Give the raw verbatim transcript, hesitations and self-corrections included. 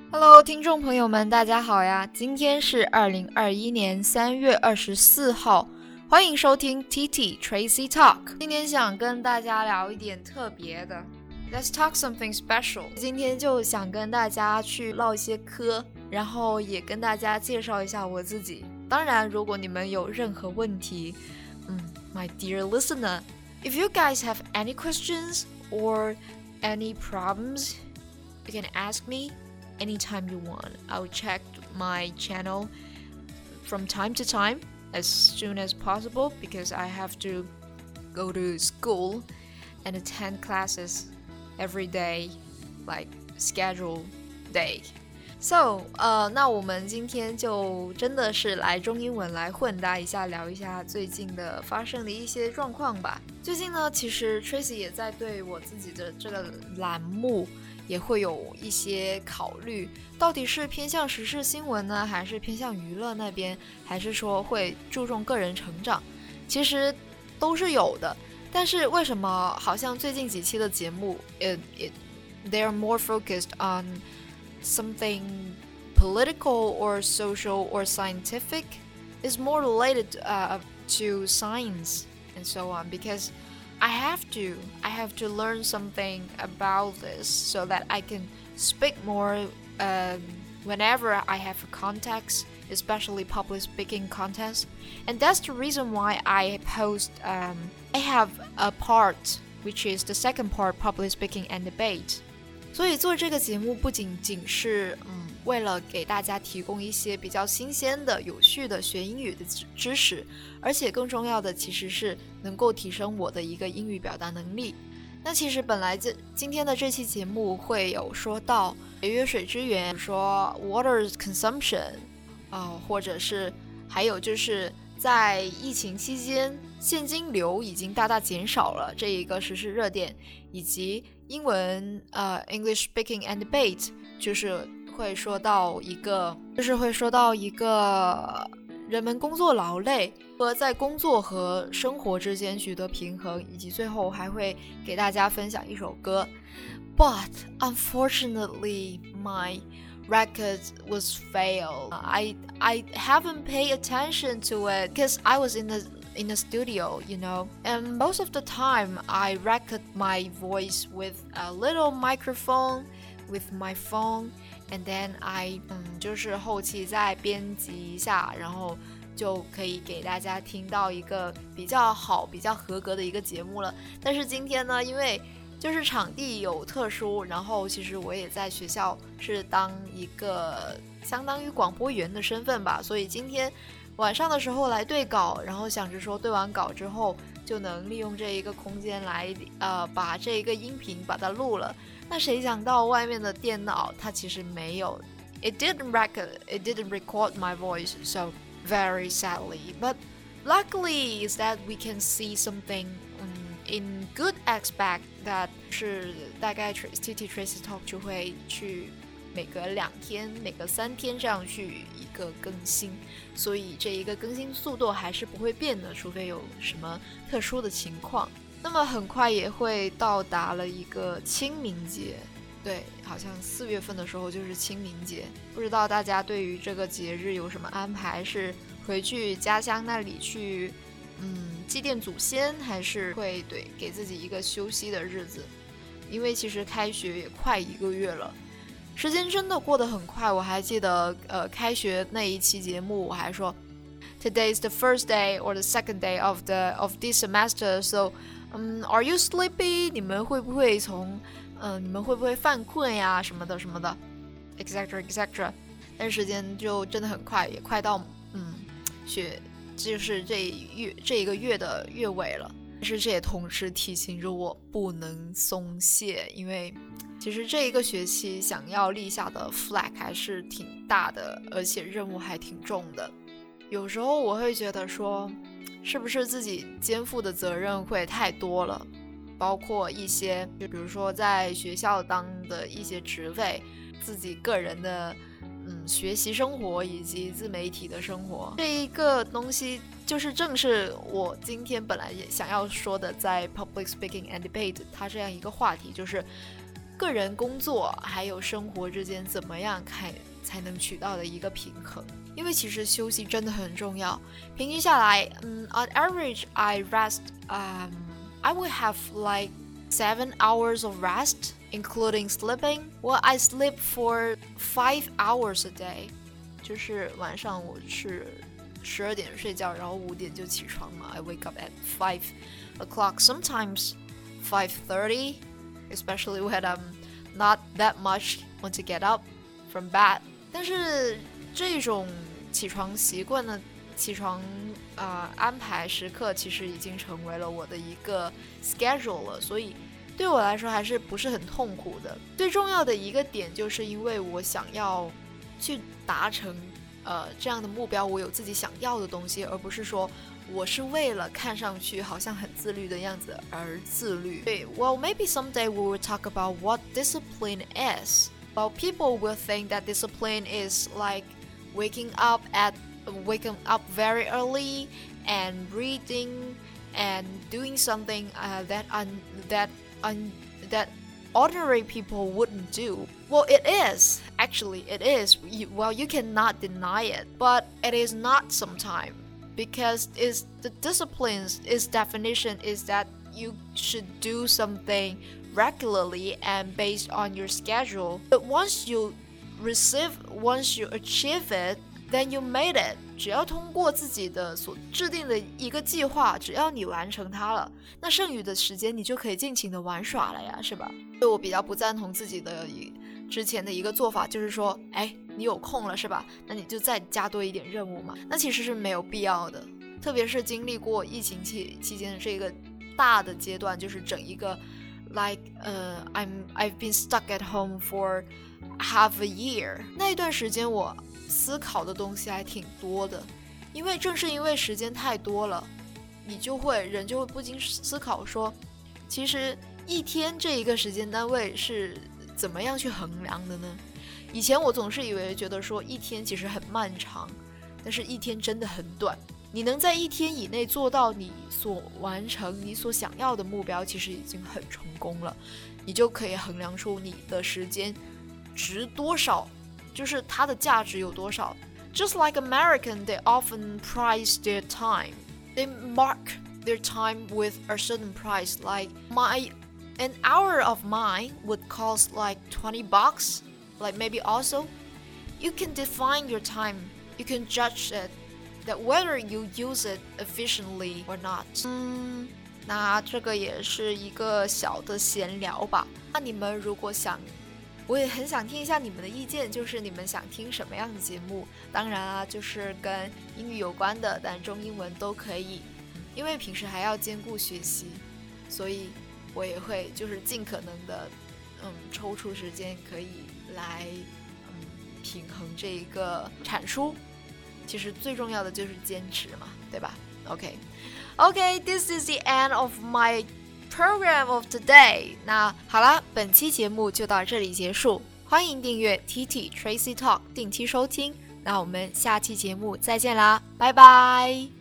Hello， 听众朋友们，大家好呀！今天是二零二一年三月二十四号，欢迎收听 T T Tracy Talk。今天想跟大家聊一点特别的 ，Let's talk something special。今天就想跟大家去唠一些嗑，然后也跟大家介绍一下我自己。当然，如果你们有任何问题，嗯 ，My dear listener, if you guys have any questions or any problems, you can ask me.Anytime you want. I'll check my channel from time to time as soon as possible because I have to go to school and attend classes every day, like scheduled day. So, 呃，那我们今天就真的是来中英文来混搭一下，聊一下最近的发生的一些状况吧。最近呢，其实 Tracy 也在对我自己的这个栏目也会有一些考虑，到底是偏向时事新闻呢，还是偏向娱乐那边，还是说会注重个人成长，其实都是有的。但是为什么好像最近几期的节目 it, it, they are more focused on something political or social or scientific is more related uh, to science and so on because I have to. I have to learn something about this so that I can speak more um, whenever I have a context, especially public speaking contest. And that's the reason why I post, um, I have a part, which is the second part, public speaking and debate. 所以做这个节目不仅仅是嗯，为了给大家提供一些比较新鲜的、有趣的学英语的知识，而且更重要的其实是能够提升我的一个英语表达能力。那其实本来这今天的这期节目会有说到节约水资源，说 water consumption 啊、呃，或者是还有就是在疫情期间现金流已经大大减少了这一个时事热点，以及英文呃 English speaking and debate 就是会说到一个就是会说到一个人们工作劳累和在工作和生活之间取得平衡，以及最后还会给大家分享一首歌。But unfortunately, my record was failed. I I haven't paid attention to it because I was in the in the studio, you know. And most of the time, I record my voice with a little microphone with my phone.And then I 嗯，就是后期再编辑一下，然后就可以给大家听到一个比较好、比较合格的一个节目了。但是今天呢，因为就是场地有特殊，然后其实我也在学校是当一个相当于广播员的身份吧，所以今天晚上的时候来对稿，然后想着说对完稿之后就能利用这一个空间来呃把这一个音频把它录了。那谁想到外面的电脑它其实没有 It didn't record It didn't record my voice So very sadly But luckily is that we can see something um, in good aspect That 是大概 T T Tracy Talk 就会去每隔两天每隔三天这样去一个更新，所以这一个更新速度还是不会变的，除非有什么特殊的情况。那么很快也会到达了一个清明节，对，好像四月份的时候就是清明节，不知道大家对于这个节日有什么安排？是回去家乡那里去嗯祭奠祖先，还是会对给自己一个休息的日子？因为其实开学也快一个月了，时间真的过得很快。我还记得呃开学那一期节目我还说 Today is the first day or the second day of the of this semester so Um, are you sleepy? 你们会不会从，嗯、呃，你们会不会犯困呀？什么的什么的 ，etc etc。但时间就真的很快，也快到嗯，学就是这一月这一个月的月尾了。但是这也同时提醒着我不能松懈，因为其实这一个学期想要立下的 flag 还是挺大的，而且任务还挺重的。有时候我会觉得说。是不是自己肩负的责任会太多了，包括一些就比如说在学校当的一些职位，自己个人的嗯学习生活以及自媒体的生活，这一个东西就是正是我今天本来也想要说的，在 public speaking and debate 它这样一个话题，就是个人工作还有生活之间怎么样看才能取到的一个平衡。因为其实休息真的很重要，平均下来，嗯 on average I rest, um, I will have like seven hours of rest, including sleeping. Well, I sleep for five hours a day. 就是晚上我是十二点睡觉，然后五点就起床嘛。I wake up at five o'clock, sometimes five thirty, especially when I'm not that much want to get up from bed. 但是这种起床习惯呢，起床呃安排时刻其实已经成为了我的一个 schedule 了，所以对我来说还是不是很痛苦的。最重要的一个点就是因为我想要去达成呃这样的目标，我有自己想要的东西，而不是说我是为了看上去好像很自律的样子而自律。对 Well, maybe someday we will talk about what discipline is. Well, people will think that discipline is like waking up at waking up very early and reading and doing something uh, that un, that un, that ordinary people wouldn't do. Well, it is. Actually, it is. You, well, you cannot deny it, but it is not sometimes because is the disciplines its definition is that you should do something regularly and based on your schedule. But once you receive, once you achieve it, then you made it. 只要通过自己的所制定的一个计划，只要你完成它了，那剩余的时间你就可以尽情的玩耍了呀，是吧？所以我比较不赞同自己的之前的一个做法，就是说，哎，你有空了是吧？那你就再加多一点任务嘛。那其实是没有必要的，特别是经历过疫情期期间的这个大的阶段，就是整一个 like 呃、uh, I'm I've been stuck at home for half a year. 那一段时间我思考的东西还挺多的，因为正是因为时间太多了，你就会人就会不禁思考说，其实一天这一个时间单位是怎么样去衡量的呢？以前我总是以为觉得说一天其实很漫长，但是一天真的很短。你能在一天以内做到你所完成你所想要的目标，其实已经很成功了，你就可以衡量出你的时间值多少，就是它的价值有多少。 Just like American, they often price their time. They mark their time with a certain price. Like my an hour of mine would cost like twenty bucks. Like maybe also, you can define your time. You can judge it that whether you use it efficiently or not. 嗯，那这个也是一个小的闲聊吧。那你们如果想，我也很想听一下你们的意见，就是你们想听什么样的节目？当然啊，就是跟英语有关的，但中英文都可以。因为平时还要兼顾学习，所以我也会就是尽可能的，嗯，抽出时间可以来，嗯，平衡这一个产出。其实最重要的就是坚持嘛，对吧？ OK OK, this is the end of my program of today. 那好啦，本期节目就到这里结束，欢迎订阅 T T Tracy Talk 定期收听，那我们下期节目再见啦，拜拜。